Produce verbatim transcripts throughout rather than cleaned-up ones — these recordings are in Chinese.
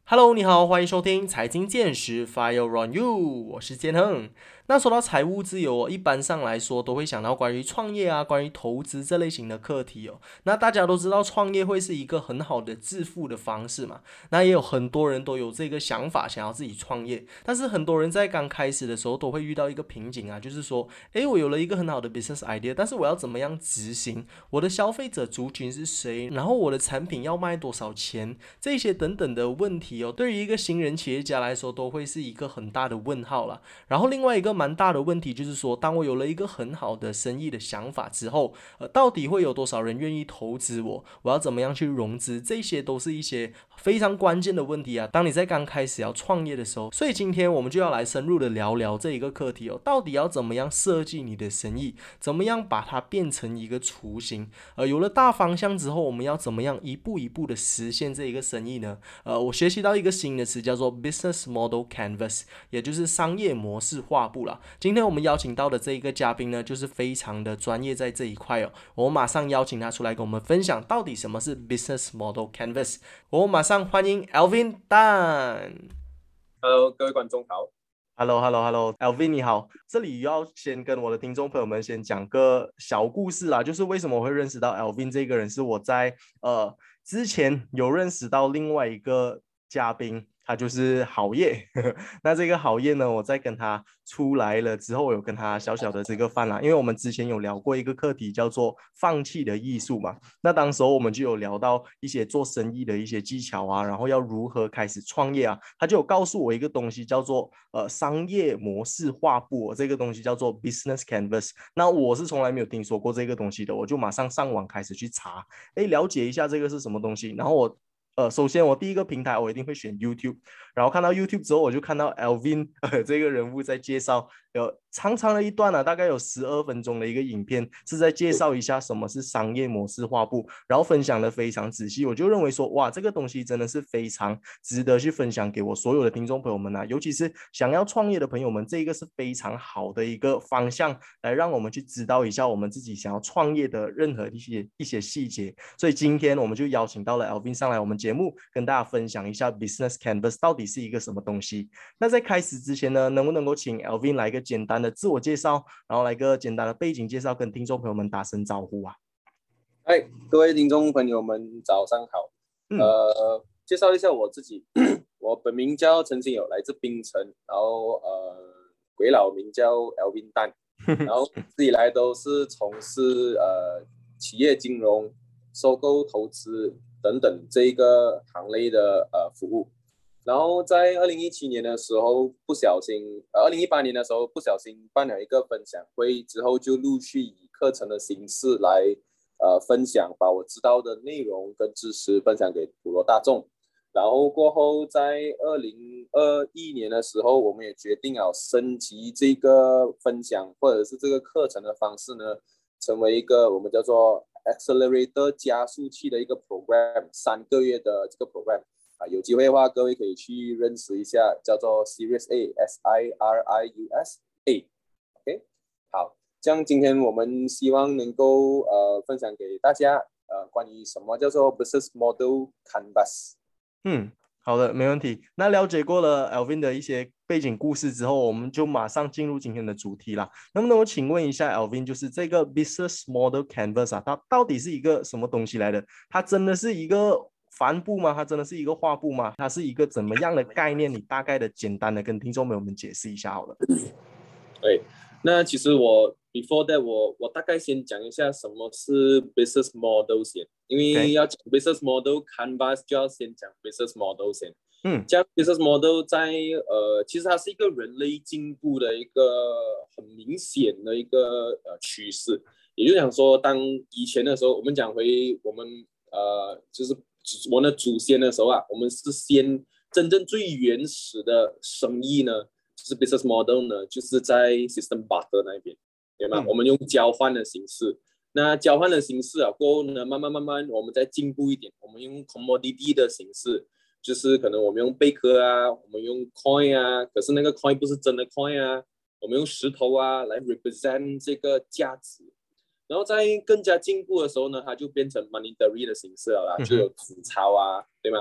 Hello，你好，欢迎收听财经见识 Fire on You，我是建亨。那说到财务自由哦，一般上来说都会想到关于创业啊、关于投资这类型的课题哦。那大家都知道创业会是一个很好的致富的方式嘛，那也有很多人都有这个想法，想要自己创业。但是很多人在刚开始的时候都会遇到一个瓶颈啊，就是说，诶，我有了一个很好的 business idea，但是我要怎么样执行？我的消费者族群是谁？然后我的产品要卖多少钱？这些等等的问题哦，对于一个新人企业家来说，都会是一个很大的问号啦。然后另外一个蛮大的问题就是说，当我有了一个很好的生意的想法之后，呃，到底会有多少人愿意投资我？我要怎么样去融资？这些都是一些非常关键的问题啊。当你在刚开始要创业的时候，所以今天我们就要来深入的聊聊这一个课题哦，到底要怎么样设计你的生意，怎么样把它变成一个雏形？呃，有了大方向之后，我们要怎么样一步一步的实现这一个生意呢？呃，我学习到一个新的词叫做 business model canvas，也就是商业模式画布啦。今天我们邀请到的这一个嘉宾呢，就是非常的专业在这一块哦。我马上邀请他出来跟我们分享到底什么是 business model canvas。我马上欢迎 Alvin Dan。 Hello，各位观众好。 Hello，Hello，Hello，Alvin 你好。这里要先跟我的听众朋友们先讲个小故事啦，就是为什么我会认识到 Alvin 这个人，是我在呃之前有认识到另外一个嘉宾，他就是郝烨。那这个郝烨呢，我在跟他出来了之后，我有跟他小小的这个饭啦，因为我们之前有聊过一个课题叫做放弃的艺术嘛。那当时候我们就有聊到一些做生意的一些技巧啊，然后要如何开始创业啊，他就有告诉我一个东西叫做呃商业模式画布、哦，这个东西叫做 business canvas。那我是从来没有听说过这个东西的，我就马上上网开始去查，哎，了解一下这个是什么东西。然后我呃，首先我第一个平台我一定会选 YouTube，然后看到 YouTube 之后，我就看到 Alvin、呃、这个人物在介绍，有长长的一段啊，大概有十二分钟的一个影片，是在介绍一下什么是商业模式画布，然后分享的非常仔细。我就认为说，哇，这个东西真的是非常值得去分享给我所有的听众朋友们啊，尤其是想要创业的朋友们，这个是非常好的一个方向，来让我们去知道一下我们自己想要创业的任何一些一些细节。所以今天我们就邀请到了 Alvin 上来我们节目，跟大家分享一下 Business Canvas 到底是一个什么东西。那在开始之前呢，能不能够请 Alvin 来一个简单的自我介绍，然后来一个简单的背景介绍，跟听众朋友们打声招呼啊？ 嗨，各位听众朋友们，早上好。 嗯。 呃，介绍一下我自己，我本名叫陈新友，来自槟城，然后呃，鬼佬名叫 Alvin Dan，然后一直以来都是从事呃企业金融、收购、投资等等这一个行类的呃服务。然后在二零一七年的时候，不小心，呃，二零一八年的时候不小心办了一个分享会，之后就陆续以课程的形式来呃分享，把我知道的内容跟知识分享给普罗大众。然后过后，在二零二一年的时候，我们也决定要升级这个分享或者是这个课程的方式呢，成为一个我们叫做 Accelerator 加速器的一个 program， 三个月的这个 program。啊，有机会的话，各位可以去认识一下，叫做 Series A，S I R I U S A。OK， 好，这样今天我们希望能够呃分享给大家呃关于什么叫做 Business Model Canvas。 嗯，好的，没问题。那了解过了 Alvin 的一些背景故事之后，我们就马上进入今天的主题啦。能不能我请问一下 Alvin，就是这个 Business Model Canvas 啊，它到底是一个什么东西来的？它真的是一个帆布吗？它真的是一个画布吗？它是一个怎么样的概念？你大概的简单的跟听众朋友们解释一下好了。 对，那其实我 before that 我我大概先讲一下什么是 business model 先，因为 OK， 要讲 business model canvas 就要先讲 business model 先。 嗯这样 business model 在呃，其实它是一个人类进步的一个很明显的一个呃趋势。也就是讲说，当以前的时候，我们讲回我们呃，就是我们的祖先的时候啊，我们是先真正最原始的生意呢，就是 business model 呢，就是在 system barter 那边，对吗？ 嗯我们用交换的形式。那交换的形式啊，过后呢，慢慢慢慢，我们再进步一点，我们用 commodity 的形式，就是可能我们用贝壳啊，我们用 coin 啊，可是那个 coin 不是真的 coin 啊，我们用石头啊来 represent 这个价值。然后在更加进步的时候呢，它就变成 monetary 的形式了啦， 嗯哼就有纸钞啊，对吗？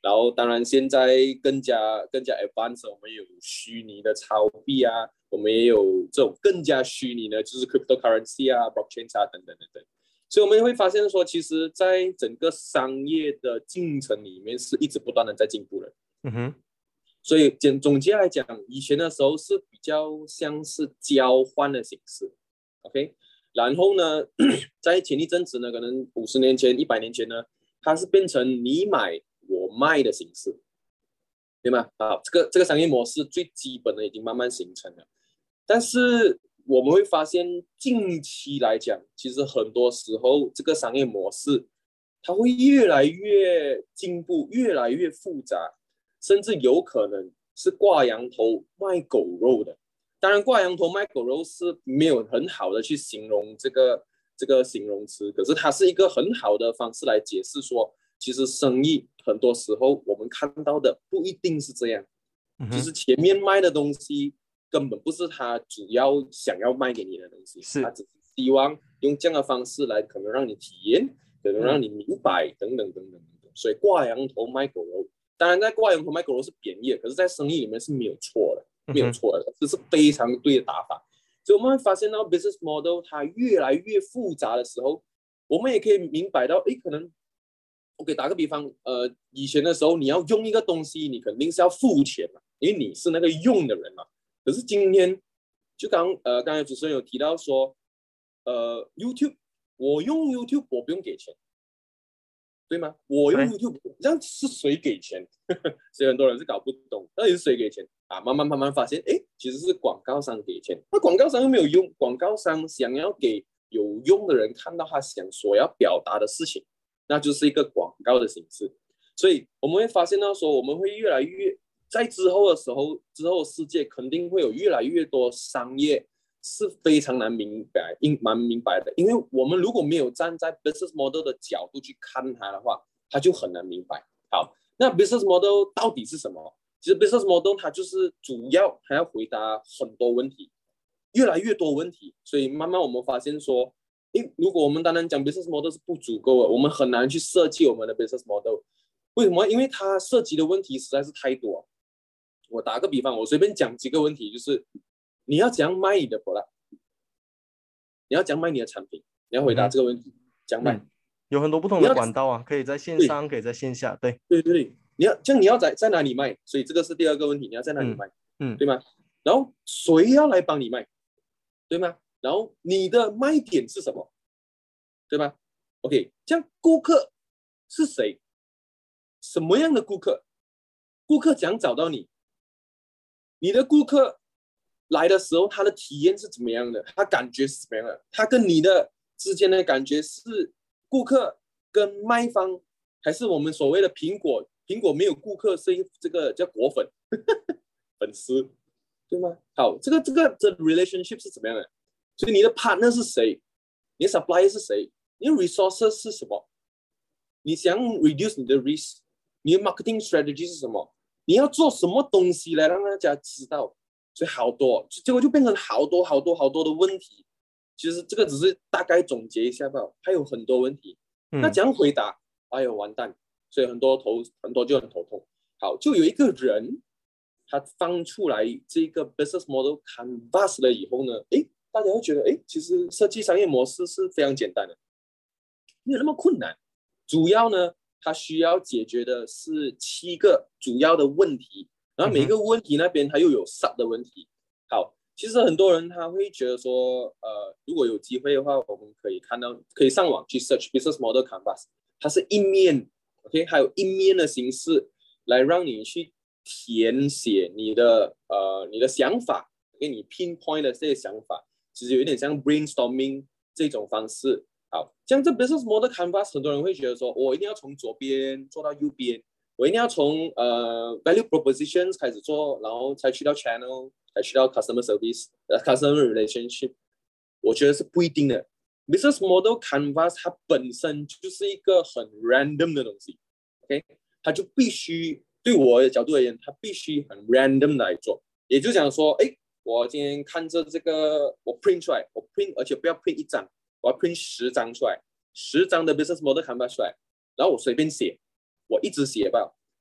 然后当然现在更加更加 advanced， 我们有虚拟的钞币啊，我们也有这种更加虚拟的，就是 cryptocurrency 啊 blockchain 啊等等等等。所以我们会发现说，其实在整个商业的进程里面是一直不断的在进步的。 嗯哼。 所以简总结来讲，以前的时候是比较像是交换的形式 ，OK， 然后呢，在前一阵子呢，可能五十年前、一百年前呢，它是变成你买我卖的形式，对吗？好，这个这个商业模式最基本的已经慢慢形成了，但是我们会发现近期来讲，其实很多时候这个商业模式它会越来越进步，越来越复杂。甚至有可能是挂羊头卖狗肉的。当然，挂羊头卖狗肉是没有很好的去形容这个这个形容词，可是它是一个很好的方式来解释说，其实生意很多时候我们看到的不一定是这样， 嗯、 就是前面卖的东西根本不是他主要想要卖给你的东西，他只是希望用这样的方式来可能让你体验，可能让你明白、嗯、等等等等等等。所以挂羊头卖狗肉。当然，在挂羊头卖狗肉是贬义的，可是，在生意里面是没有错的，没有错的，这是非常对的打法。所以我们会发现到 business model 它越来越复杂的时候，我们也可以明白到，诶，可能我给打个比方，呃，以前的时候你要用一个东西，你肯定是要付钱嘛，因为你是那个用的人嘛。可是今天，就刚呃刚才主持人有提到说，呃 ，YouTube 我用 YouTube 我不用给钱。对吗？我用 YouTube， 这样是谁给钱？所以很多人是搞不懂，到底是谁给钱啊？慢慢慢慢发现，哎，其实是广告商给钱。那广告商又没有用，广告商想要给有用的人看到他想所要表达的事情，那就是一个广告的形式。所以我们会发现到说，我们会越来越在之后的时候，之后的世界肯定会有越来越多商业。是非常难明白，蛮明白的，因为我们如果没有站在 business model 的角度去看它的话，它就很难明白。好，那 business model 到底是什么？其实 business model 它就是主要还要回答很多问题，越来越多问题，所以慢慢我们发现说，诶，如果我们单单讲 business model 是不足够的，我们很难去设计我们的 business model。为什么？因为它涉及的问题实在是太多。我打个比方，我随便讲几个问题，就是你要怎样卖你的 product？ 你要怎样卖你的产品？你要回答这个问题，怎样卖、嗯？ 有很多不同的管道啊，可以在线上，可以在线下，对对对对，你要这样你要在在哪里卖？所以这个是第二个问题，你要在哪里卖？嗯，嗯对吗？然后谁要来帮你卖？对吗？然后你的卖点是什么？对吧 ？OK， 这样顾客是谁？什么样的顾客？顾客怎样找到你？你的顾客来的时候，他的体验是怎么样的？他感觉是怎么样的？他跟你的之间的感觉是顾客跟卖方，还是我们所谓的苹果？苹果没有顾客，是这个叫果粉粉丝，对吗？好，这个这个这 relationship 是怎么样的？所以你的 partner 是谁？你的 supplier 是谁？你的 resources 是什么？你想 reduce 你的 risk， 你的 marketing strategy 是什么？你要做什么东西来让大家知道？所以好多，结果就变成好多好多好多的问题。其实这个只是大概总结一下吧，还有很多问题。嗯、那怎样回答？哎呦，完蛋！所以很多头很多就很头痛。好，就有一个人，他放出来这个 business model canvas 了以后呢，诶，大家会觉得，诶，其实设计商业模式是非常简单的，没有那么困难。主要呢，它需要解决的是七个主要的问题。然后每个问题那边它又有 sub 的问题。好，其实很多人他会觉得说，呃，如果有机会的话，我们可以看到，可以上网去 search business model canvas， 它是一面 ，OK， 还有一面的形式来让你去填写你的呃你的想法，给你 pinpoint 的这些想法，其实有一点像 brainstorming 这种方式。好，像这 business model canvas， 很多人会觉得说，我一定要从左边做到右边。我一定要从呃 value propositions 开始做，然后才去到 channel， 才去到 customer service， 呃 customer relationship。我觉得是不一定的。Business model canvas 它本身就是一个很 random 的东西 ，OK， 它就必须对我的角度而言，它必须很 random 来做。也就讲说，哎，我今天看着这个，我 print 出来，我 print， 而且不要 print 一张，我要 print 十张出来，十张的 business model canvas 出来，然后我随便写。我一直写吧，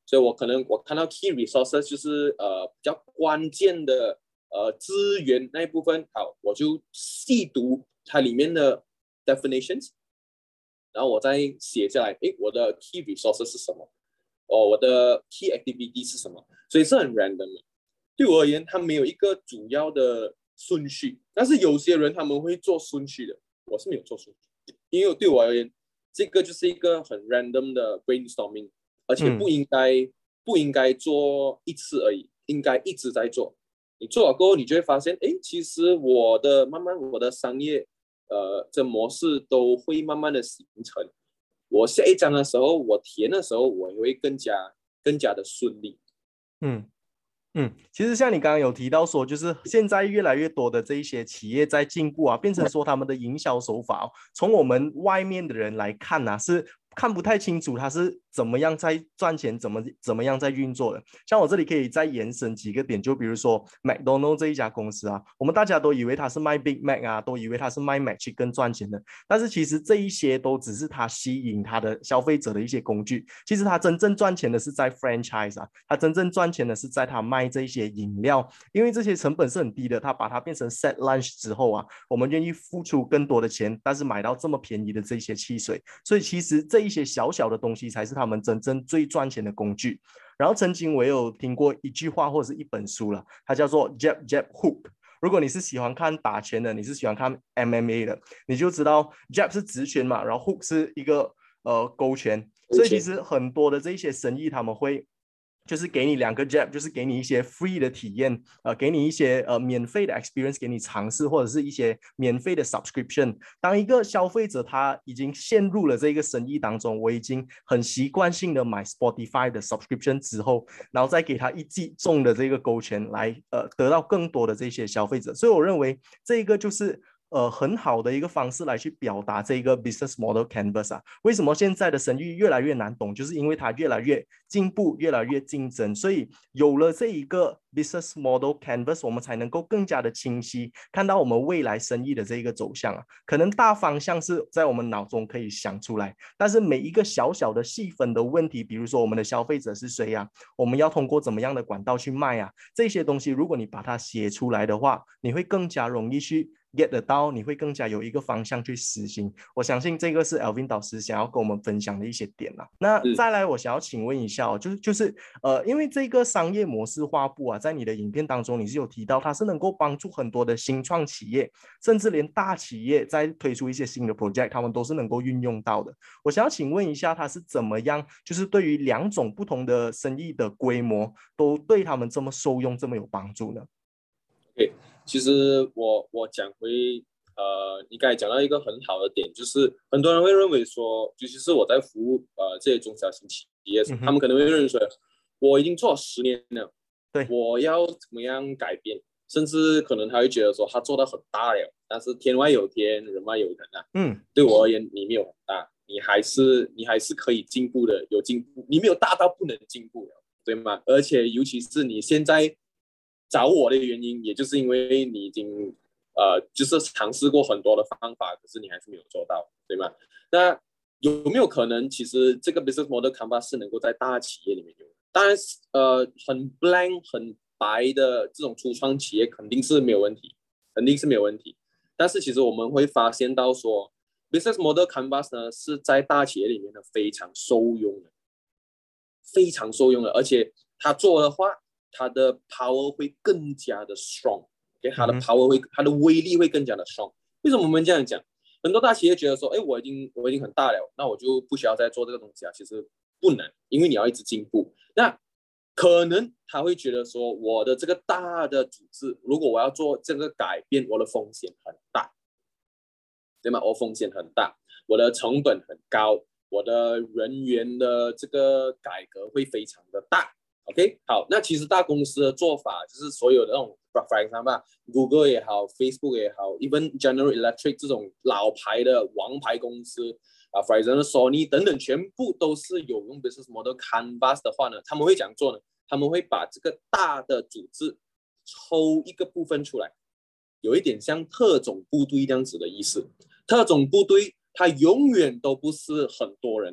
所以我可能我看到 key resources 就是呃比较关键的呃资源那一部分，好，我就细读它里面的 definitions， 然后我再写下来，诶，我的 key resources 是什么？哦，我的 key activity 是什么？所以是很 random 的。对我而言，它没有一个主要的顺序，但是有些人他们会做顺序的，我是没有做顺序，因为对我而言，这个就是一个很 random 的 brainstorming， 而且不应该、嗯、不应该做一次而已，应该一直在做。你做了过后，你就会发现，哎，其实我的慢慢我的商业呃这模式都会慢慢的形成。我下一章的时候，我填的时候，我会更加更加的顺利。 嗯嗯，其实像你刚刚有提到说，就是现在越来越多的这一些企业在进步啊，变成说他们的营销手法、哦，从我们外面的人来看啊，是看不太清楚它是怎么样在赚钱，怎么怎么样在运作的。像我这里可以再延伸几个点，就比如说 McDonald 这一家公司啊，我们大家都以为它是卖 Big Mac 啊，都以为它是卖 Mac 去更赚钱的，但是其实这一些都只是它吸引它的消费者的一些工具。其实它真正赚钱的是在 franchise 啊，它真正赚钱的是在它卖这些饮料，因为这些成本是很低的，它把它变成 set lunch 之后啊，我们愿意付出更多的钱，但是买到这么便宜的这些汽水，所以其实这一些小小的东西才是他们真正最赚钱的工具。然后曾经我有听过一句话或者是一本书了，它叫做 Jab Jab Hook。如果你是喜欢看打拳的，你是喜欢看 M M A 的，你就知道 Jab 是直拳嘛，然后 Hook 是一个呃勾拳，所以其实很多的这些生意他们会就是给你两个 jab， 就是给你一些 free 的体验，呃，给你一些呃免费的 experience， 给你尝试，或者是一些免费的 subscription。当一个消费者他已经陷入了这个生意当中，我已经很习惯性的买 Spotify 的 subscription 之后，然后再给他一记中的这个勾拳来呃得到更多的这些消费者。所以我认为这个就是呃很好的一个方式来去表达这个 business model canvas 啊。为什么现在的生意越来越难懂，就是因为它越来越进步，越来越竞争，所以有了这一个 business model canvas， 我们才能够更加的清晰看到我们未来生意的这一个走向啊。可能大方向是在我们脑中可以想出来，但是每一个小小的细分的问题，比如说我们的消费者是谁啊，我们要通过怎么样的管道去卖啊，这些东西如果你把它写出来的话，你会更加容易去get 得到，你会更加有一个方向去实行。我相信这个是 Alvin 导师想要跟我们分享的一些点啦。那再来，我想要请问一下哦，就是就是呃，因为这个商业模式画布啊，在你的影片当中你是有提到，它是能够帮助很多的新创企业，甚至连大企业在推出一些新的 project， 他们都是能够运用到的。我想要请问一下，它是怎么样，就是对于两种不同的生意的规模，都对他们这么受用，这么有帮助呢？ OK， 其实我我讲回呃，你刚才讲到一个很好的点，就是很多人会认为说，尤其是我在服务呃这些中小型企业，嗯、他们可能会认为说，我已经做了十年了， 对， 我要怎么样改变？甚至可能他会觉得说，他做到很大了，但是天外有天，人外有人啊。嗯，对我而言，你没有很大，你还是你还是可以进步的，有进步，你没有大到不能进步了，对吗？而且尤其是你现在找我的原因，也就是因为你已经呃，就是尝试过很多的方法，可是你还是没有做到，对吗？那有没有可能，其实这个 business model canvas 是能够在大企业里面用？当然，呃，很 blank 很白的这种初创企业肯定是没有问题，肯定是没有问题。但是其实我们会发现到说 ，business model canvas 呢是在大企业里面呢非常受用的，非常受用的，而且他做的话，它的 power 会更加的 strong， okay? 它的 power 会，它的威力会更加的 strong。为什么我们这样讲？很多大企业觉得说，哎，我已经我已经很大了，那我就不需要再做这个东西啊。其实不能，因为你要一直进步。那可能他会觉得说，我的这个大的组织，如果我要做这个改变，我的风险很大，对吗？我风险很大，我的成本很高，我的人员的这个改革会非常的大。OK， 好，那其实大公司的做法就是所有的那种 for example Google 也好 Facebook 也好 even General Electric 这种老牌的王牌公司啊 for example Sony 等等，全部都是有用 business model canvas 的话呢，他们会怎样做呢？他们会把这个大的组织抽一个部分出来，有一点像特种部队这样子的意思。特种部队它永远都不是很多人的，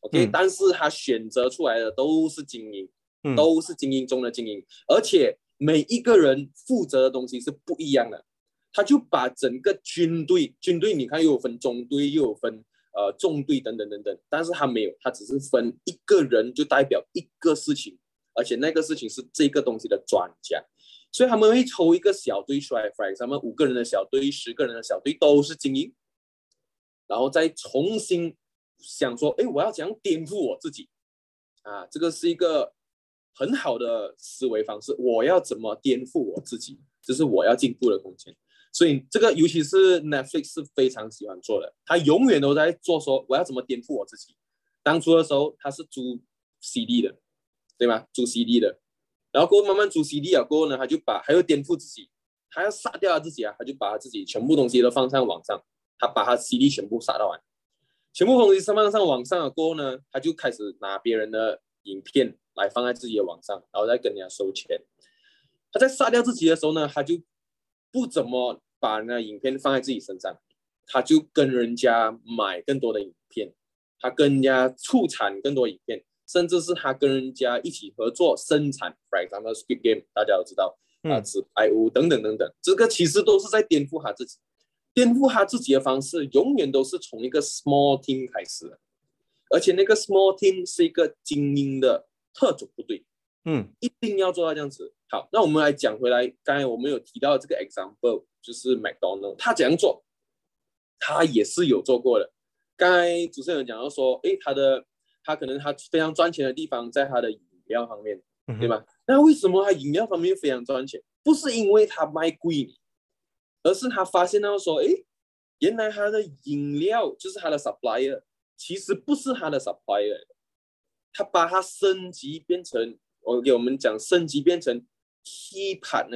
OK，、 嗯、 但是他选择出来的都是精英， 嗯、 都是精英中的精英，而且每一个人负责的东西是不一样的。他就把整个军队，军队你看又有分中队，又有分呃重队等等等等，但是他没有，他只是分一个人就代表一个事情，而且那个事情是这个东西的专家，所以他们会抽一个小队出来 ，for example 五个人的小队、十个人的小队都是精英，然后再重新想说，哎，我要怎样颠覆我自己啊？这个是一个很好的思维方式，我要怎么颠覆我自己，这是我要进步的空间。所以这个尤其是 Netflix 是非常喜欢做的，他永远都在做说我要怎么颠覆我自己。当初的时候他是租 C D 的，对吗？租 C D 的，然后过后慢慢租 C D 了过后呢，他就把还要颠覆自己，他要杀掉他自己啊，他就把他自己全部东西都放上网上，他把他 C D 全部杀到完，全部东西放上网上了过后呢，他就开始拿别人的影片来放在自己的网上，然后再跟人家收钱。他在杀掉自己的时候呢，他就不怎么把那影片放在自己身上，他就跟人家买更多的影片，他跟人家促产更多影片，甚至是他跟人家一起合作生产 ，for example Squid Game 大家都知道啊，纸牌屋等等等等，这个其实都是在颠覆他自己，颠覆他自己的方式永远都是从一个 small team 开始的，而且那个 small team 是一个精英的特种部队。嗯，一定要做到这样子。好，那我们来讲回来，刚才我们有提到这个 example， 就是 McDonald， 他怎样做？他也是有做过的。刚才主持人讲到说，诶，他的他可能他非常赚钱的地方在他的饮料方面，对吧？嗯、那为什么他饮料方面非常赚钱？不是因为他卖贵，而是他发现到说，诶，原来他的饮料就是他的 supplier， 其实不是他的 supplier， 他把它升级变成。我给我们讲升级变成 key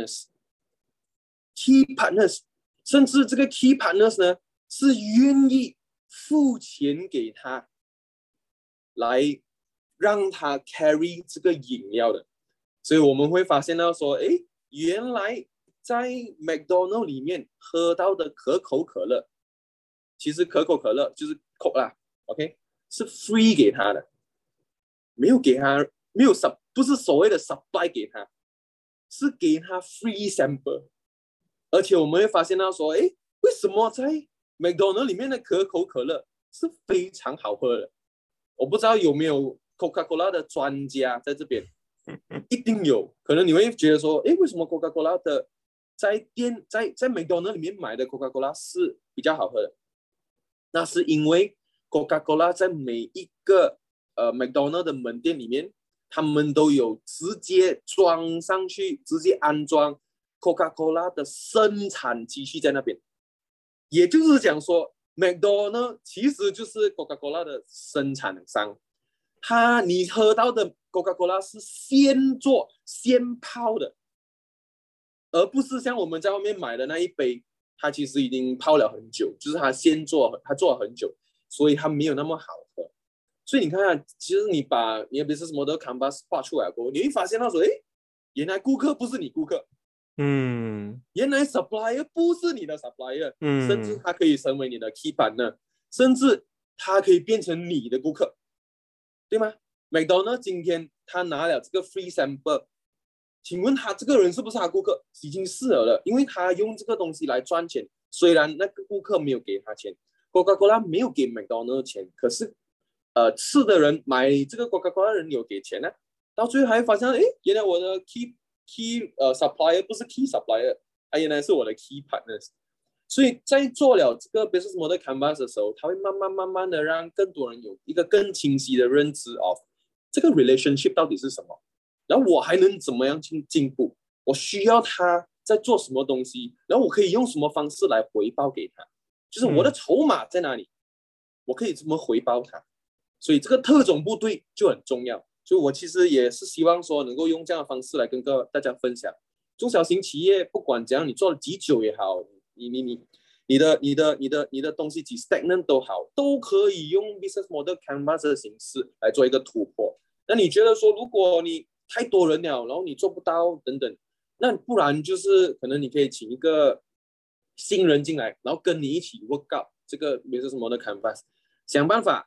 partners，key partners， 甚至这个 key partners 呢是愿意付钱给他，来让他 carry 这个饮料的。所以我们会发现到说，哎，原来在 McDonald 里面喝到的可口可乐，其实可口可乐就是 Coke 啦 ，OK， 是 free 给他的，没有给他。没有 sub， 不是所谓的 supply 给他，是给他 free sample。而且我们会发现到说，哎，为什么在 McDonald 里面的可口可乐是非常好喝的？我不知道有没有 Coca-Cola 的专家在这边，一定有。可能你会觉得说，哎，为什么 Coca-Cola 的在店在在 McDonald 里面买的 Coca-Cola 是比较好喝的？那是因为 Coca-Cola 在每一个呃 McDonald 的门店里面。他们都有直接装上去，直接安装 Coca-Cola 的生产机器在那边，也就是讲说 McDonald 其实就是 Coca-Cola 的生产商，它你喝到的 Coca-Cola 是现做现泡的，而不是像我们在外面买的那一杯，它其实已经泡了很久，就是它先做，它做了很久，所以它没有那么好喝。所以你看看，其实你把你的 business model canvas 画出来过后，你会发现到说，哎，原来顾客不是你顾客，嗯，原来 supplier 不是你的 supplier，嗯，甚至他可以成为你的 key partner，甚至他可以变成你的顾客，对吗 ？McDonald 今天他拿了这个 free sample， 请问他这个人是不是他顾客？已经是了，因为他用这个东西来赚钱，虽然那个顾客没有给他钱 ，Coca-Cola 没有给 McDonald 钱，可是。呃，吃的人买这个 Coca-Cola 的人有给钱呢、啊，到最后还发现，哎，原来我的 key key 呃 supplier 不是 key supplier， 它原来是我的 key partners。所以在做了这个 business model canvas 的时候，它会慢慢慢慢的让更多人有一个更清晰的认知 of 这个 relationship 到底是什么，然后我还能怎么样进进步，我需要他在做什么东西，然后我可以用什么方式来回报给他，就是我的筹码在哪里，嗯、我可以怎么回报他。所以这个特种部队就很重要，所以我其实也是希望说能够用这样的方式来跟各大家分享，中小型企业不管怎样，你做了几久也好，你你你你的你的你的你的东西几 stagnant 都好，都可以用 business model canvas 的形式来做一个突破。那你觉得说，如果你太多人了，然后你做不到等等，那不然就是可能你可以请一个新人进来，然后跟你一起 work out 这个 business model canvas，想办法。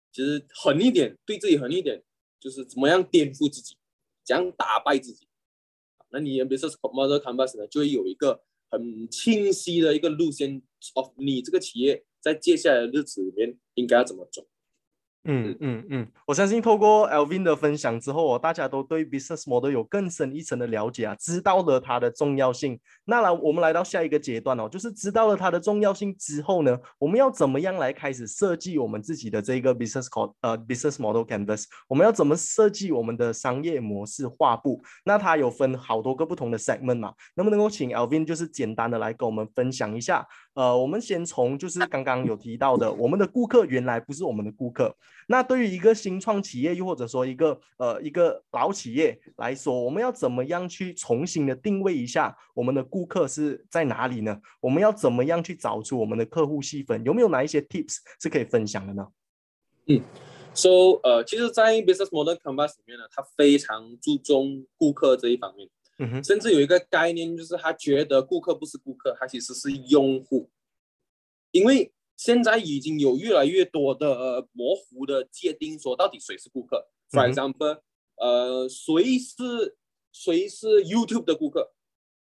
其实狠一点，对自己狠一点，就是怎么样颠覆自己，怎样打败自己。那你的 business model canvas 呢，就会有一个很清晰的一个路线 of 你这个企业在接下来的日子里面应该要怎么走。 嗯嗯嗯，我相信透过 Alvin 的分享之后哦，大家都对 business model 有更深一层的了解啊，知道了它的重要性。那来，我们来到下一个阶段哦，就是知道了它的重要性之后呢，我们要怎么样来开始设计我们自己的这个 business code 呃 business model canvas？我们要怎么设计我们的商业模式画布？那它有分好多个不同的 segment 嘛？能不能够请 Alvin 就是简单的来跟我们分享一下？呃，我们先从就是刚刚有提到的，我们的顾客原来不是我们的顾客。那对于一个新创企业，又或者说一个呃一个老企业来说，我们要怎么样去重新的定位一下我们的顾客是在哪里呢？我们要怎么样去找出我们的客户细分？有没有哪一些 tips 是可以分享的呢？ 嗯 ，so 呃，其实，在 business model canvas 里面呢，它非常注重顾客这一方面， 嗯哼， 甚至有一个概念，就是他觉得顾客不是顾客，他其实是用户，因为现在已经有越来越多的、呃、模糊的界定，说到底谁是顾客。For 嗯 example，、呃，谁是谁是 YouTube 的顾客？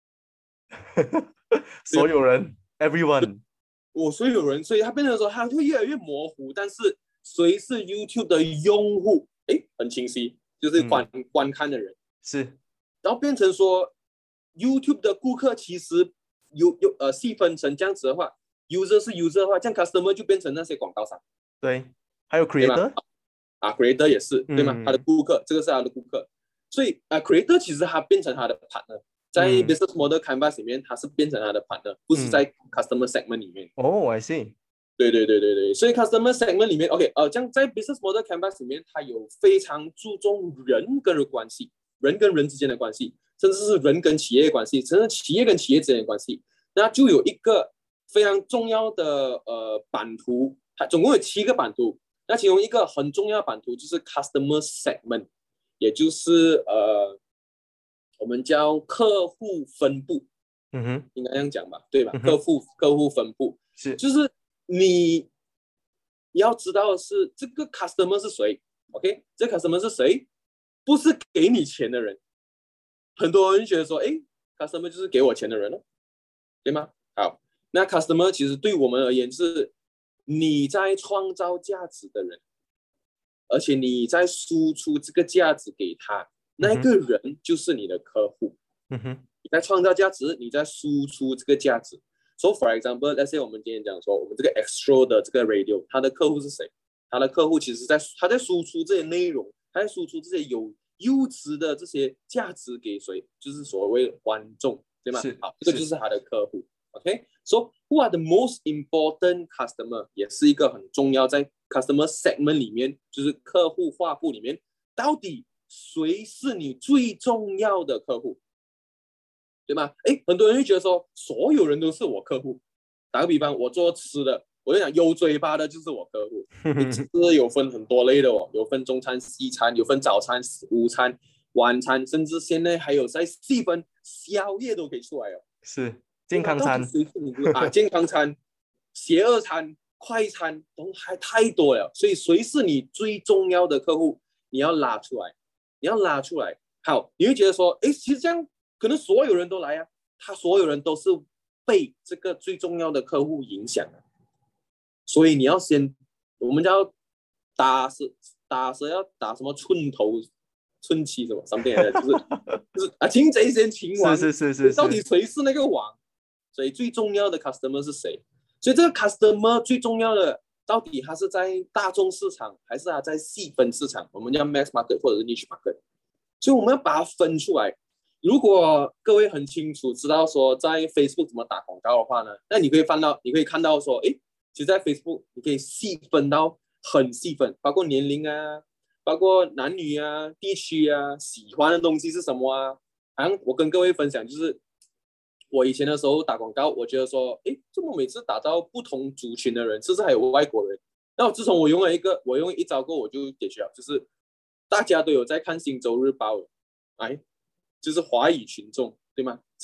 所有人 ，everyone， 我所有人，所以它变成说，它会越来越模糊。但是谁是 YouTube 的用户？哎，很清晰，就是观、嗯、观看的人。 是， 然后变成说 YouTube 的顾客其实有有呃细分成这样子的话。user 是 user 的话，这样 customer 就变成那些广告商， 对，还有 creator， 啊 creator 也是，对吗？ 嗯、 他的顾客，这个是他的顾客，所以啊 creator 其实他变成他的 partner， 在 business model canvas 里面，他是变成他的 partner， 不是在 customer segment 里面。 哦、oh, I see。 对对对对对，所以 customer segment 里面 ，OK， 呃，这样在 business model canvas 里面，它有非常注重人跟人关系，人跟人之间的关系，甚至是人跟企业的关系，甚至企业跟企业之间的关系，那就有一个非常重要的呃版图，它总共有七个版图。那其中一个很重要的版图就是 customer segment， 也就是呃我们叫客户分布， 嗯哼， 应该这样讲吧，对吧？ 嗯、 客户客户分布是， 就是你要知道的是这个 customer 是谁 ，OK？ 这个 customer 是谁？不是给你钱的人。很多人觉得说，哎 ，customer 就是给我钱的人了，对吗？好。那 customer 其实对我们而言是你在创造价值的人，而且你在输出这个价值给他，那个人就是你的客户。 嗯哼， 你在创造价值，你在输出这个价值。So for example，let's say 我们今天讲说，我们这个 Extro 的这个 radio， 它的客户是谁？它的客户其实在他在输出这些内容，他在输出这些有优质的这些价值给谁？就是所谓的观众，对吗？好，这个就是他的客户。OK，so who are the most important customer 也是一个很重要，在 customer segment 里面，就是客户画布里面，到底谁是你最重要的客户，对吗？哎，很多人会觉得说，所有人都是我客户。打个比方，我做吃的，我就讲有嘴巴的就是我客户。吃有分很多类的哦，有分中餐、西餐，有分早餐、午餐、晚餐，甚至现在还有在细分宵夜都可以出来哦。 是。健康餐啊，健康餐、邪恶餐、快餐都还太多了，所以谁是你最重要的客户？你要拉出来，你要拉出来。好，你会觉得说，哎，其实这样可能所有人都来啊，他所有人都是被这个最重要的客户影响的，所以你要先，我们叫打蛇，打蛇要打什么寸头、寸七什么 something 的，就是就是啊，擒贼先擒王， 是是是是， 到底谁是那个王？所以最重要的 customer 是谁？所以这个 customer 最重要的，到底他是在大众市场，还是他在细分市场？我们叫 mass market 或者是 niche market。所以我们要把它分出来。如果各位很清楚知道说在 Facebook 怎么打广告的话呢，那你可以看到，你可以看到说，哎，其实在 Facebook 你可以细分到很细分，包括年龄啊，包括男女啊、地区啊、喜欢的东西是什么啊。好像我跟各位分享就是。我以前的时候打广告，我觉得说，哎，怎么每次打到不同族群的人，甚至还有外国人。那自从我用了一个，我用一招过，我就解决了，就是大家都有在看《星洲日报》，哎，就是华语群众，对吗？所以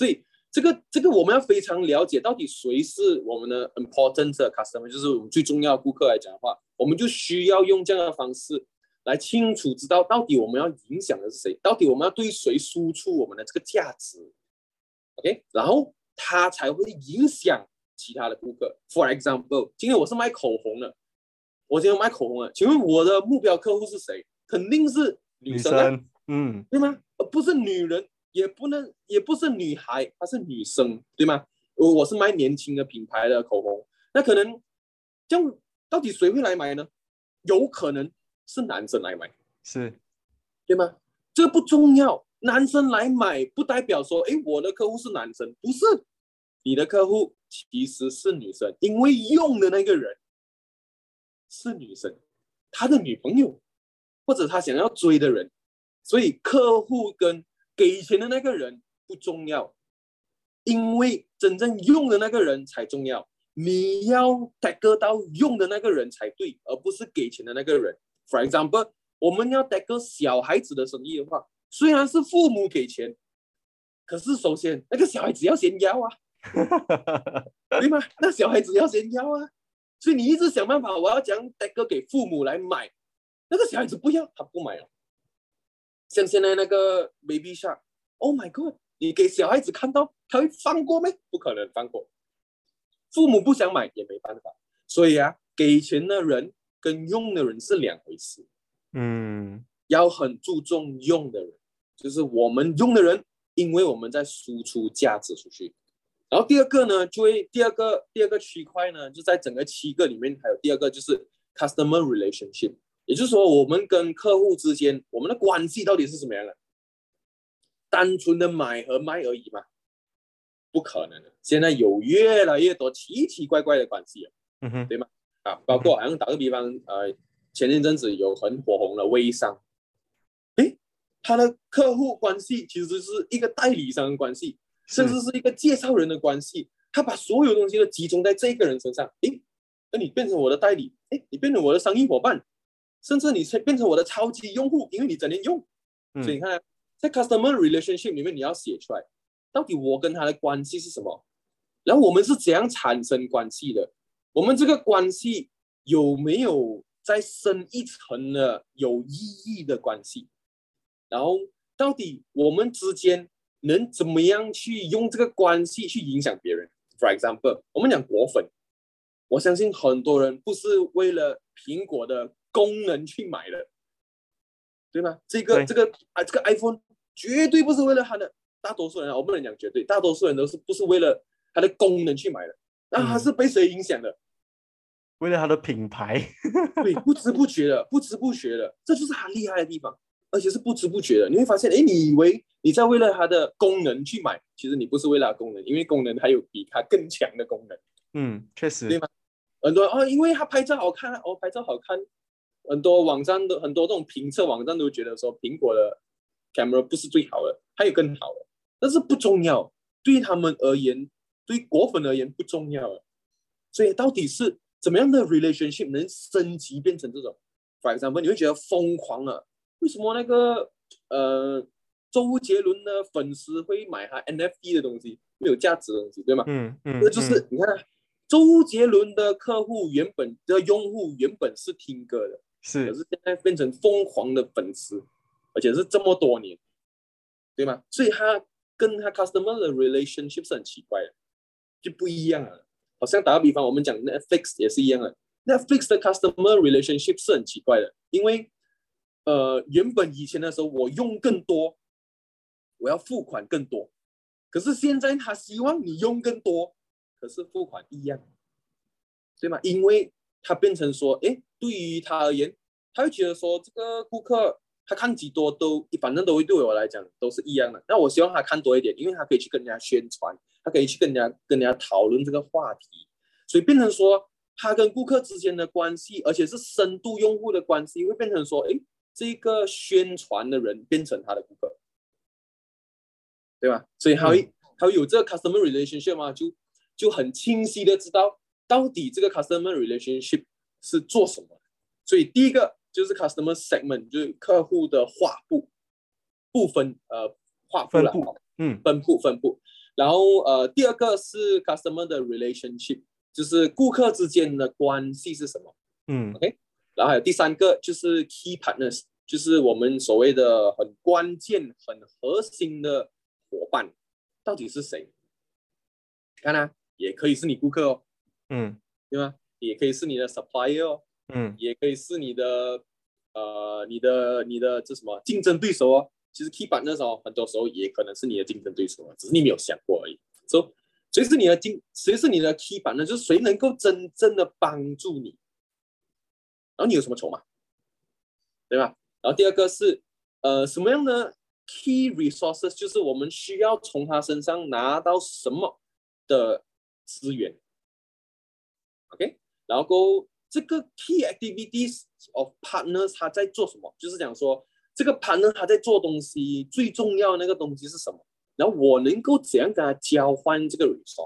这个这个我们要非常了解到底谁是我们的 important customer， 就是我们最重要的顾客来讲的话，我们就需要用这样的方式来清楚知道到底我们要影响的是谁，到底我们要对谁输出我们的这个价值 ，OK， 然后它才会影响其他的顾客。For example， 今天我是卖口红的，我今天卖口红的，请问我的目标客户是谁？肯定是女生啊， 女生嗯， 对吗？而不是女人。也不能，也不是女孩，她是女生，对吗？我是卖年轻的品牌的口红，那可能这样，到底谁会来买呢？有可能是男生来买， 是， 对吗？这个不重要，男生来买不代表说，哎，我的客户是男生，不是，你的客户其实是女生，因为用的那个人是女生，他的女朋友或者他想要追的人，所以客户跟给钱的那个人不重要，因为真正用的那个人才重要。你要 tag 到用的那个人才对，而不是给钱的那个人。For example， 我们要 tag 小孩子的生意的话，虽然是父母给钱，可是首先那个小孩子要先要啊，对吗？那小孩子要先要啊，所以你一直想办法，我要讲 tag 给父母来买，那个小孩子不要，他不买了。像现在那个 Baby Shark，Oh my God， 你给小孩子看到，他会放过没？不可能放过。父母不想买也没办法，所以啊，给钱的人跟用的人是两回事。 嗯， 要很注重用的人，就是我们用的人，因为我们在输出价值出去。然后第二个呢，就会第二个第二个区块呢，就在整个七个里面，还有第二个就是 customer relationship。也就是说，我们跟客户之间，我们的关系到底是什么样的？单纯的买和卖而已吗？不可能的。现在有越来越多奇奇怪怪的关系了， 嗯哼， 对吗？啊，包括好像打个比方，呃，前一阵子有很火红的微商，诶，他的客户关系其实是一个代理商的关系，甚至是一个介绍人的关系，他把所有东西都集中在这个人身上，诶，那你变成我的代理，诶，你变成我的生意伙伴。甚至你变成我的超级用户，因为你整天用，嗯、所以你看，在 customer relationship 里面，你要写出来，到底我跟他的关系是什么？然后我们是怎样产生关系的？我们这个关系有没有再深一层的有意义的关系？然后到底我们之间能怎么样去用这个关系去影响别人 ？For example， 我们讲果粉，我相信很多人不是为了苹果的功能去买的，对吗？这个这个啊，这个 iPhone 绝对不是为了它的，大多数人我不能讲绝对，大多数人都是不是为了它的功能去买的，那它是被谁影响的？ 为了它的品牌， 对，不知不觉的，不知不觉的，这就是它厉害的地方，而且是不知不觉的。你会发现，哎，你以为你在为了它的功能去买，其实你不是为了它的功能，因为功能还有比它更强的功能。 嗯，确实， 对吗？很多哦，因为它拍照好看，哦，拍照好看。很多网站都很多这种评测网站都觉得说苹果的 camera 不是最好的，还有更好的，但是不重要，对他们而言，对果粉而言不重要了。所以到底是怎么样的 relationship 能升级变成这种 ？For example， 你会觉得疯狂了，为什么那个呃周杰伦的粉丝会买他 N F T 的东西，没有价值的东西，对吗？ 嗯嗯， 这就是你看，周杰伦的客户原本的用户原本是听歌的。 是， 可是现在变成疯狂的粉丝，而且是这么多年，对吗？所以他跟他 customer 的 relationship 是很奇怪的，就不一样了。好像打个比方，我们讲 Netflix 也是一样的 ，Netflix 的 customer relationship 是很奇怪的，因为呃，原本以前的时候我用更多，我要付款更多，可是现在他希望你用更多，可是付款一样，对吗？因为他变成说，哎，对于他而言，他会觉得说，这个顾客他看几多都，反正都会对我来讲都是一样的。那我希望他看多一点，因为他可以去跟人家宣传，他可以去跟人家跟人家讨论这个话题，所以变成说，他跟顾客之间的关系，而且是深度用户的关系，会变成说，哎，这个宣传的人变成他的顾客，对吧？所以他会、嗯、他会有这个 customer relationship 嘛，就就很清晰的知道。到底这个 customer relationship 是做什么？所以第一个就是 customer segment， 就是客户的划布部分，呃，划布啦， 嗯， 分布分布。 然后呃，第二个是 customer 的 relationship，就是顾客之间的关系是什么？ 嗯 OK，然后还有第三个就是 key partners，就是我们所谓的很关键、很核心的伙伴，到底是谁？看啊，也可以是你顾客哦， 嗯对吗？也可以是你的 supplier 哦， 嗯也可以是你的呃你的你的这什么竞争对手哦。其实 key partners 哦，很多时候也可能是你的竞争对手啊，只是你没有想过而已。所、so, 以谁是你的竞，谁是你的 key partner，就是谁能够真正的帮助你，然后你有什么筹码，对吧？然后第二个是呃什么样的 key resources，就是我们需要从他身上拿到什么的资源 ，OK， 然后这个 key activities of partners 他在做什么，就是讲说这个 partner 他在做东西最重要的那个东西是什么，然后我能够怎样跟他交换这个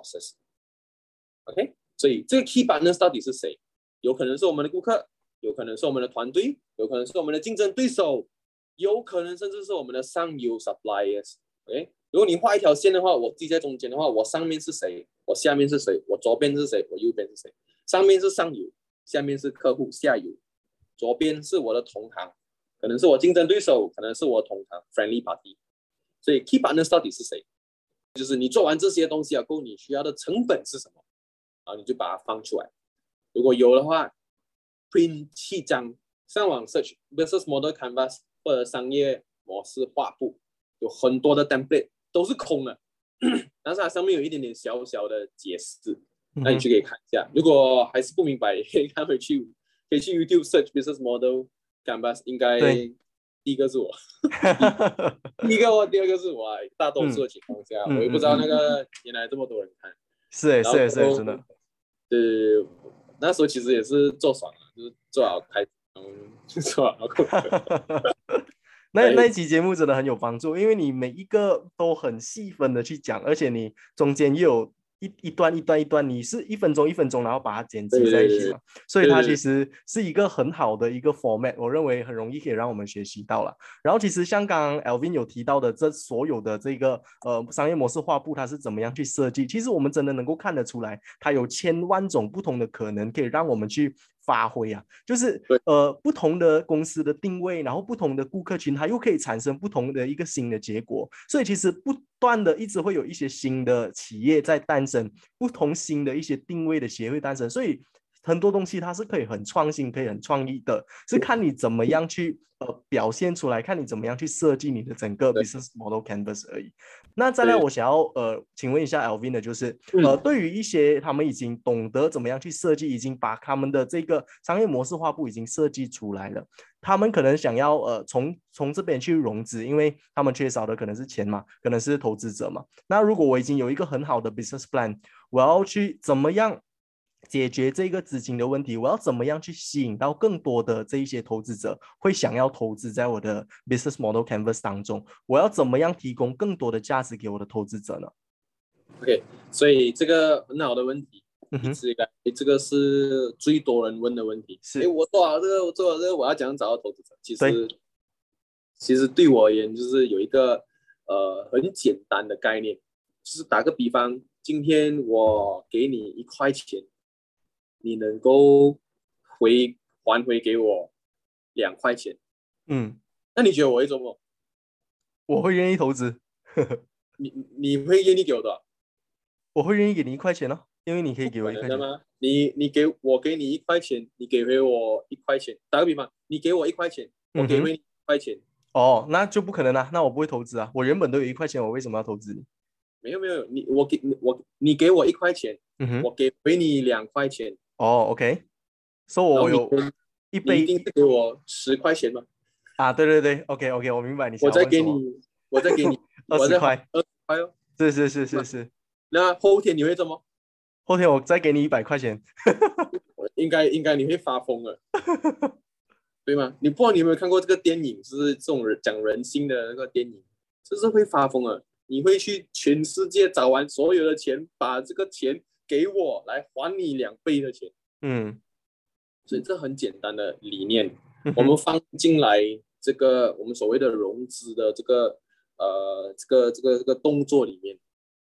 resources，OK， 所以这个 key partners 到底是谁？有可能是我们的顾客，有可能是我们的团队，有可能是我们的竞争对手，有可能甚至是我们的上游 suppliers。OK， 如果你画一条线的话，我自己在中间的话，我上面是谁，我下面是谁，我左边是谁，我右边是谁？上面是上游，下面是客户，下游，左边是我的同行，可能是我竞争对手，可能是我同行 friendly party。所以 key partners 到底是谁？就是你做完这些东西啊，够你需要的成本是什么？啊，你就把它放出来。如果有的话 ，print 七张，上网 search business model canvas 或者商业模式画布，有很多的 template 都是空的，但是它上面有一点点小小的解释，那你就可以看一下。如果还是不明白，可以看回去，可以去 YouTube search business model canvas， 应该第一个是我，第一个哦，第二个是我、啊。大多数的情况下，嗯、我也不知道那个原来这么多人看。 是哎，是哎，是真的。 对，那时候其实也是做爽了，就是做好开，嗯，做好。 那那一期节目真的很有帮助，因为你每一个都很细分的去讲，而且你中间又有一一段一段一段，你是一分钟一分钟，然后把它剪辑在一起嘛，所以它其实是一个很好的一个 format， 我认为很容易可以让我们学习到了。然后其实像刚刚 Alvin 有提到的，这所有的这个呃商业模式画布它是怎么样去设计，其实我们真的能够看得出来，它有千万种不同的可能可以让我们去发挥啊，就是呃不同的公司的定位，然后不同的顾客群，它又可以产生不同的一个新的结果。所以其实不断的一直会有一些新的企业在诞生，不同新的一些定位的协会诞生。所以很多东西它是可以很创新，可以很创意的，是看你怎么样去呃表现出来，看你怎么样去设计你的整个 business model canvas 而已。那再来，我想要呃请问一下 Alvin 的就是，呃，对于一些他们已经懂得怎么样去设计，已经把他们的这个商业模式画布已经设计出来了，他们可能想要呃从从这边去融资，因为他们缺少的可能是钱嘛，可能是投资者嘛。那如果我已经有一个很好的 business plan， 我要去怎么样解决这个资金的问题，我要怎么样去吸引到更多的这一些投资者会想要投资在我的 business model canvas 当中，我要怎么样提供更多的价值给我的投资者呢？ OK， 所以这个很好的问题，一直以来这个是最多人问的问题。是，我做好这个，我做好这个，我要怎样找到投资者？其实，其实对我而言，就是有一个呃很简单的概念，就是打个比方，今天我给你一块钱，你能够回还回给我两块钱，嗯，那你觉得我会做什么？ 我会愿意投资。 你你会愿意给我多少？ 我会愿意给你一块钱哦，因为你可以给我一块钱。 吗？你你给我给你一块钱，你给回我一块钱。打个比方，你给我一块钱，我给回你一块钱。嗯、 哦，那就不可能啊，那我不会投资啊。我原本都有一块钱，我为什么要投资你？ 没有没有，你我给我你给我一块钱，嗯、我给回你两块钱。 哦 ，OK， 所以我有一杯， 你一定是给我十块钱吗？ 啊，对对对 ，OK OK， 我明白你想我再给你，我再给你二十块， 二十块哦。 是是是是是。 那后天你会做吗？ 后天我再给你一百块钱。 应该应该你会发疯了，对吗？你不知道你有没有看过这个电影，就是这种讲人性的那个电影，就是会发疯了。你会去全世界找完所有的钱，把这个钱给我来还你两倍的钱。嗯，所以这很简单的理念，我们放进来这个我们所谓的融资的这个呃这个这个这个动作里面。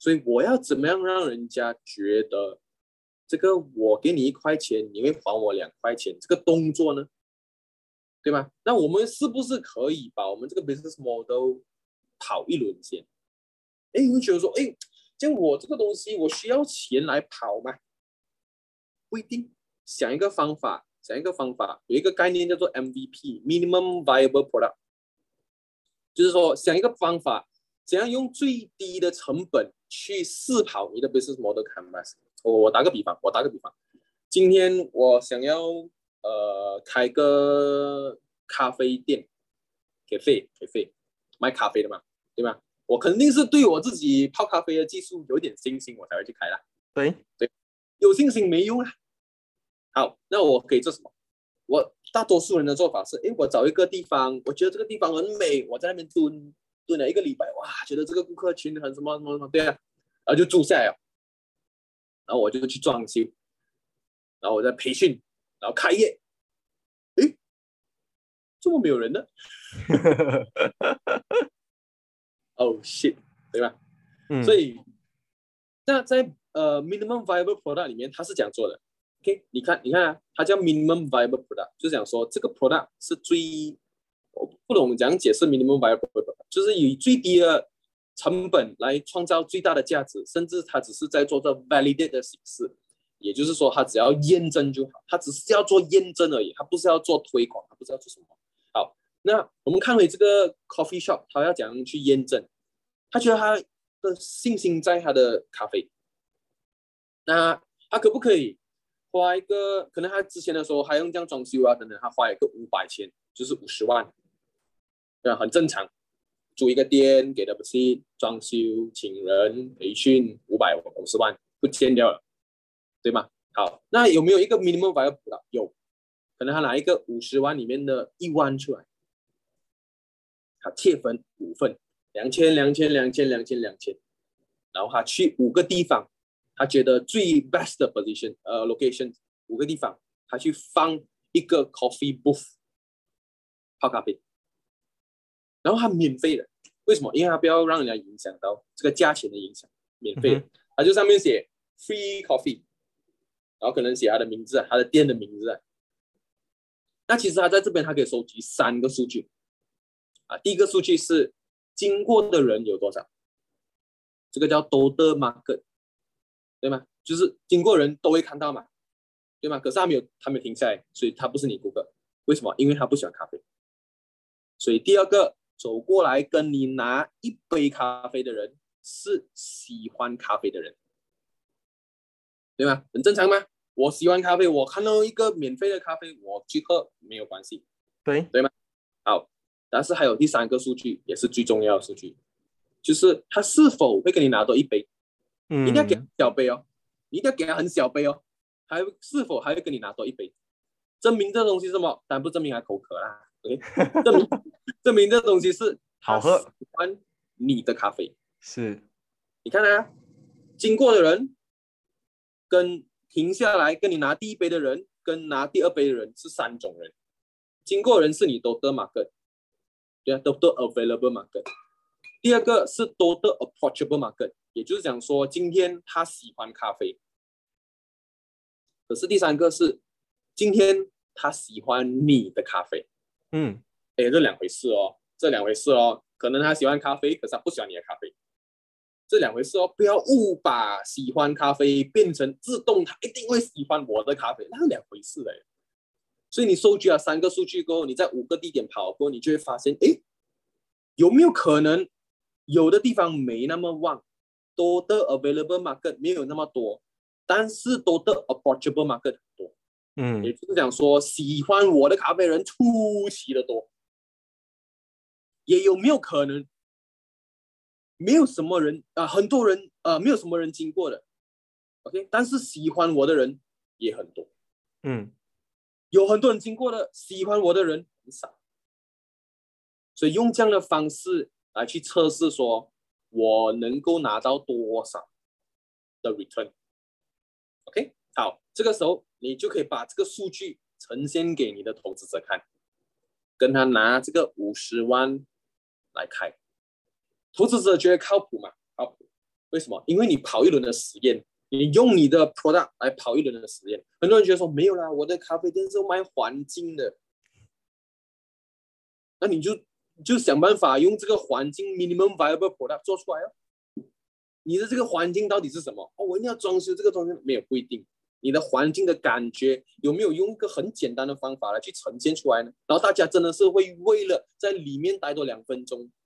所以我要怎么样让人家觉得这个我给你一块钱，你会还我两块钱这个动作呢？对吗？那我们是不是可以把我们这个 business model 跑一轮先？哎，你会觉得说，哎，这样我这个东西我需要钱来跑吗？不一定。想一个方法，想一个方法，有一个概念叫做 M V P（Minimum Viable Product），就是说想一个方法，怎样用最低的成本去试跑你的 business model canvas。我打个比方，我打个比方，今天我想要呃开个咖啡店，咖啡咖啡卖咖啡的嘛，对吗？我肯定是对我自己泡咖啡的技术有点信心，我才会去开啦。 对对，有信心没用啊。好，那我可以做什么？我大多数人的做法是，哎，我找一个地方，我觉得这个地方很美，我在那边蹲蹲了一个礼拜，哇，觉得这个顾客群很什么什么什么，对啊，然后就住下来了，然后我就去装修，然后我再培训，然后开业，哎，这么没有人呢？Oh shit， 对吧？嗯，所以那在呃 minimum viable product 里面，它是这样做的。OK， 你看，你看啊，它叫 minimum viable product， 就是讲说这个 product 是最，我不懂讲解释 minimum viable product， 就是以最低的成本来创造最大的价值，甚至它只是在做这 validate 的形式，也就是说，它只要验证就好，它只是要做验证而已，它不是要做推广，它不是要做什么。好，那我们看回这个 coffee shop， 它要怎样去验证？他觉得他的信心在他的咖啡，那他可不可以花一个？可能他之前的时候还用这样装修啊等等，他花一个五百千，就是五十万，对吧？很正常。租一个店，给的不是装修、请人、培训，五百五十万不见掉了，对吗？好，那有没有一个 minimum viable？ 有，可能他拿一个五十万里面的一万出来，他切分五份。两千两千两千两千两千，然后他去五个地方，他觉得最 best 的 position 呃 location 五个地方，他去放一个 coffee booth 泡咖啡，然后他免费的，为什么？因为他不要让人家影响到这个价钱的影响，免费的，嗯、他就上面写 free coffee， 然后可能写他的名字啊，他的店的名字啊。那其实他在这边他可以收集三个数据啊，第一个数据是经过的人有多少？这个叫 total market， 对吗？就是经过人都会看到嘛，对吗？可是他没有，他没有停下来，所以他不是你顾客。为什么？因为他不喜欢咖啡。所以第二个，走过来跟你拿一杯咖啡的人是喜欢咖啡的人，对吗？很正常吗？我喜欢咖啡，我看到一个免费的咖啡，我去喝没有关系， 对对吗？好，但是还有第三个数据，也是最重要的数据，就是他是否会跟你拿多一杯，嗯、一定要给他小杯哦，你一定要给他很小杯哦，还是否还会跟你拿多一杯？证明这东西是什么？当然不证明他口渴啦 ，OK？ 证明证明这东西是好喝， 喜欢你的咖啡。 是， 你看啊，经过的人跟停下来跟你拿第一杯的人，跟拿第二杯的人是三种人。经过人是你 total market， 对啊 ，total available market。第二个是 total approachable market， 也就是讲说今天他喜欢咖啡，可是第三个是今天他喜欢你的咖啡。嗯，哎，这两回事哦，这两回事哦，可能他喜欢咖啡，可是他不喜欢你的咖啡。这两回事哦，不要误把喜欢咖啡变成自动他一定会喜欢我的咖啡，那是两回事嘞。所以你收集了三个数据过后，你在五个地点跑过后，你就会发现，哎，有没有可能有的地方没那么旺，多的 available market 没有那么多，但是多的 approachable market 很多。嗯，也就是讲说，喜欢我的咖啡人出奇的多。也有没有可能？没有什么人啊、呃，很多人啊、呃，没有什么人经过的 ，OK， 但是喜欢我的人也很多，嗯，有很多人经过的，喜欢我的人很少，所以用这样的方式来去测试，说我能够拿到多少的 return，OK， 好，这个时候你就可以把这个数据呈现给你的投资者看，跟他拿这个五十万来开。投资者觉得靠谱嘛？靠谱。 为什么？因为你跑一轮的实验，你用你的 product 来跑一轮的实验。很多人觉得说没有啦，我的咖啡店是卖环境的，那你就就想办法用这个环境 minimum viable product 做出来哦。你的这个环境到底是什么？哦，我一定要装修这个装修，没有不一定。你的环境的感觉有没有用一个很简单的方法来去呈现出来呢？然后大家真的是会为了在里面待多两分钟，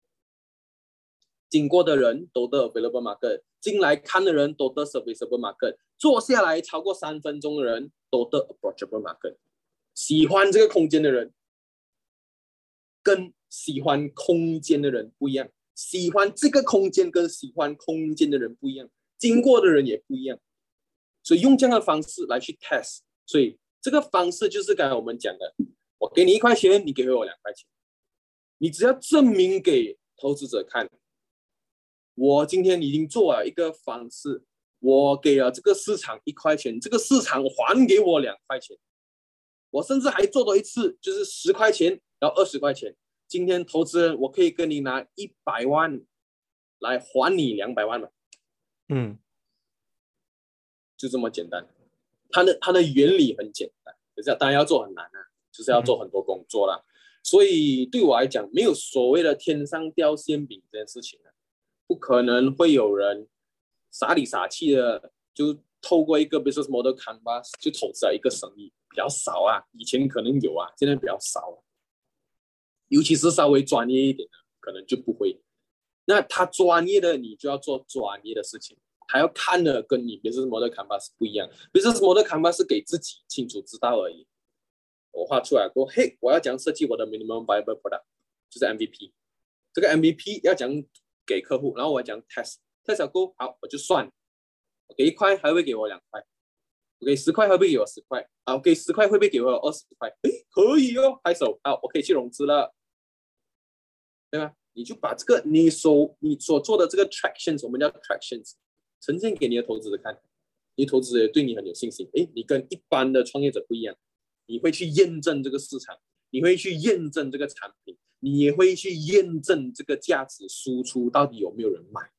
经过的人都得 available market， 进来看的人都得 serviceable market， 坐下来超过三分钟的人都得 approachable market。喜欢这个空间的人跟喜欢空间的人不一样，喜欢这个空间跟喜欢空间的人不一样，经过的人也不一样。所以用这样的方式来去 test， 所以这个方式就是刚才我们讲的，我给你一块钱，你给回我两块钱，你只要证明给投资者看，我今天已经做了一个方式，我给了这个市场一块钱，这个市场还给我两块钱，我甚至还做多一次，就是十块钱，然后二十块钱。今天投资人，我可以跟你拿一百万来还你两百万嘛？ 嗯。 就这么简单，它的它的原理很简单，可是当然要做很难啊，就是要做很多工作啦。嗯、所以对我来讲，没有所谓的天上掉馅饼这件事情啊，不可能会有人傻里傻气的就透过一个 business model canvas 就投资了一个生意，比较少啊。以前可能有啊，现在比较少啊。尤其是稍微专业一点的，可能就不会。那他专业的，你就要做专业的事情。还要看的跟你 business model canvas 不一样 ，business model canvas 是给自己清楚知道而已。我画出来过，嘿，我要讲设计我的 minimum viable product， 就是 M V P。这个 M V P 要讲给客户，然后我要讲 test，test 过好我就算，我给一块还会给我两块，我给十块会不会给我十块？啊，我给十块会不会给我二十块？哎，可以哦，拍手，好，我可以去融资了，对吧？你就把这个你所你所做的这个 tractions， 我们叫 tractions。呈现给你的投资者看，你投资者对你很有信心。哎，你跟一般的创业者不一样，你会去验证这个市场，你会去验证这个产品，你也会去验证这个价值输出到底有没有人买，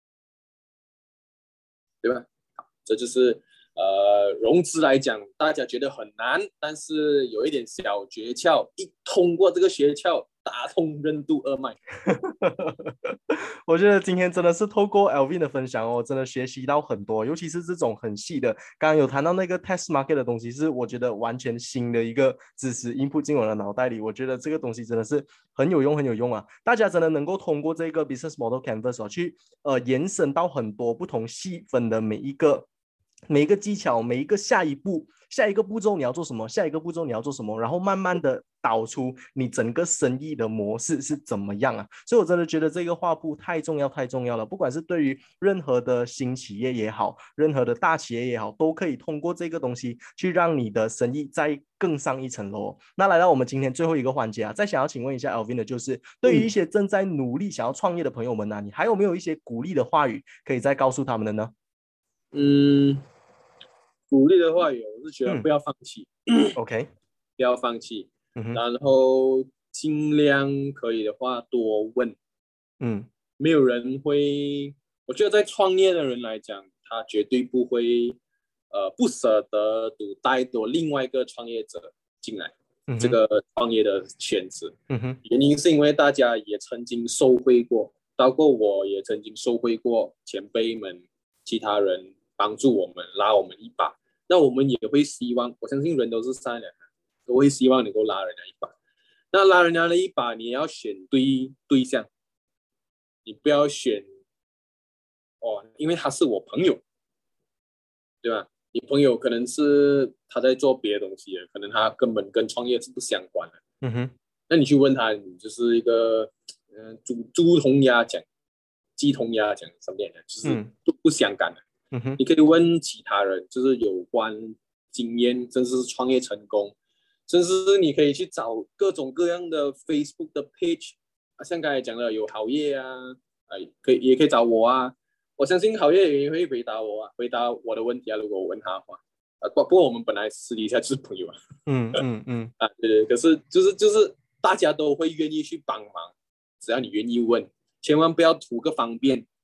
对吧？好，这就是呃融资来讲，大家觉得很难，但是有一点小诀窍，一通过这个诀窍，打通任督二脉。 我觉得今天真的是透过 Alvin 的分享哦，真的学习到很多，尤其是这种很细的，刚刚有谈到那个 test market 的东西，是我觉得完全新的一个知识 input 进我的脑袋里，我觉得这个东西真的是很有用很有用啊！大家真的能够通过这个 business model canvas 哦，去呃延伸到很多不同细分的每一个每一个技巧，每一个下一步。下一个步骤你要做什么？下一个步骤你要做什么？然后慢慢的导出你整个生意的模式是怎么样啊？所以我真的觉得这个画布太重要太重要了，不管是对于任何的新企业也好，任何的大企业也好，都可以通过这个东西去让你的生意再更上一层楼。那来到我们今天最后一个环节啊，再想要请问一下 Alvin 的就是，对于一些正在努力想要创业的朋友们呢、啊，你还有没有一些鼓励的话语可以再告诉他们的呢？ 嗯。鼓励的话语，我是觉得不要放弃。 嗯、OK， 不要放弃、 嗯， 然后尽量可以的话多问。 嗯， 没有人会，我觉得在创业的人来讲，他绝对不会，呃，不舍得赌带多另外一个创业者进来、嗯、这个创业的圈子。 嗯哼， 原因是因为大家也曾经受惠过，包括我也曾经受惠过前辈们、其他人。帮助我们拉我们一把，那我们也会希望，我相信人都是善良的，都会希望能够拉人家一把。那拉人家的一把，你也要选对对象，你不要选哦，因为他是我朋友，对吧？你朋友可能是他在做别的东西，可能他根本跟创业是不相关的。 嗯哼， 那你去问他，你就是一个嗯、呃、猪猪同鸭讲，鸡同鸭讲，什么的，就是都不相干的。 嗯哼， 你可以问其他人，就是有关经验，甚至是创业成功，甚至你可以去找各种各样的 Facebook 的 page， 啊，像刚才讲的有好业啊，啊，可以也可以找我啊，我相信好业也会回答我啊，回答我的问题啊，如果我问他的话，啊，不不过我们本来私底下就是朋友啊， 嗯嗯嗯， 啊，对对，可是就是就是大家都会愿意去帮忙，只要你愿意问，千万不要图个方便。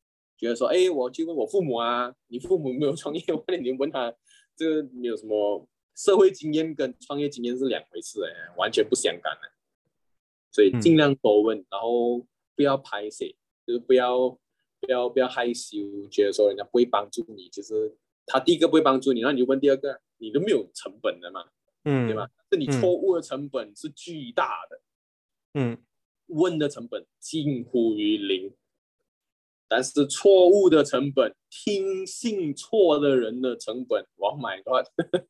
觉得说，哎，我去问我父母啊，你父母没有创业，或者你问他，这个没有什么社会经验跟创业经验是两回事哎，完全不相干的。所以尽量多问，嗯、然后不要排斥，就是不要不要不要害羞，觉得说人家不会帮助你，就是他第一个不会帮助你，然后你就问第二个，你都没有成本的嘛，嗯，对吧？是你错误的成本是巨大的，嗯，问的成本近乎于零，但是错误的成本，听信错的人的成本 ，Oh my God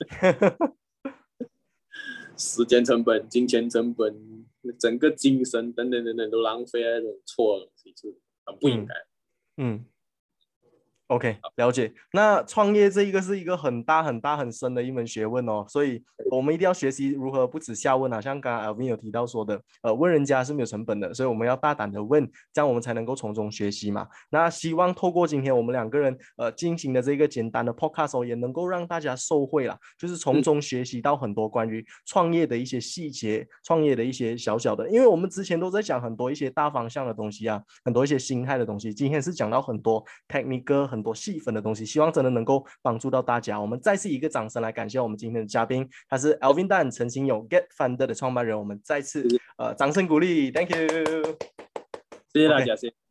时间成本、金钱成本、整个精神等等等等都浪费在这种错的东西，是很不应该。 嗯。嗯 OK， 了解。那创业这一个是一个很大很大很深的一门学问哦，所以我们一定要学习如何不止下问啊，像刚刚 Alvin 有提到说的，呃，问人家是没有成本的，所以我们要大胆的问，这样我们才能够从中学习嘛。那希望透过今天我们两个人呃进行的这个简单的 podcast 哦，也能够让大家受惠啦，就是从中学习到很多关于创业的一些细节，创业的一些小小的，因为我们之前都在讲很多一些大方向的东西啊，很多一些心态的东西，今天是讲到很多 technical 很多细分的东西，希望真的能够帮助到大家。我们再次一个掌声来感谢我们今天的嘉宾，他是 Alvin Tan 陈兴勇 Get Funded 的创办人，我们再次呃掌声鼓励 ，Thank you， 谢谢大家，谢谢。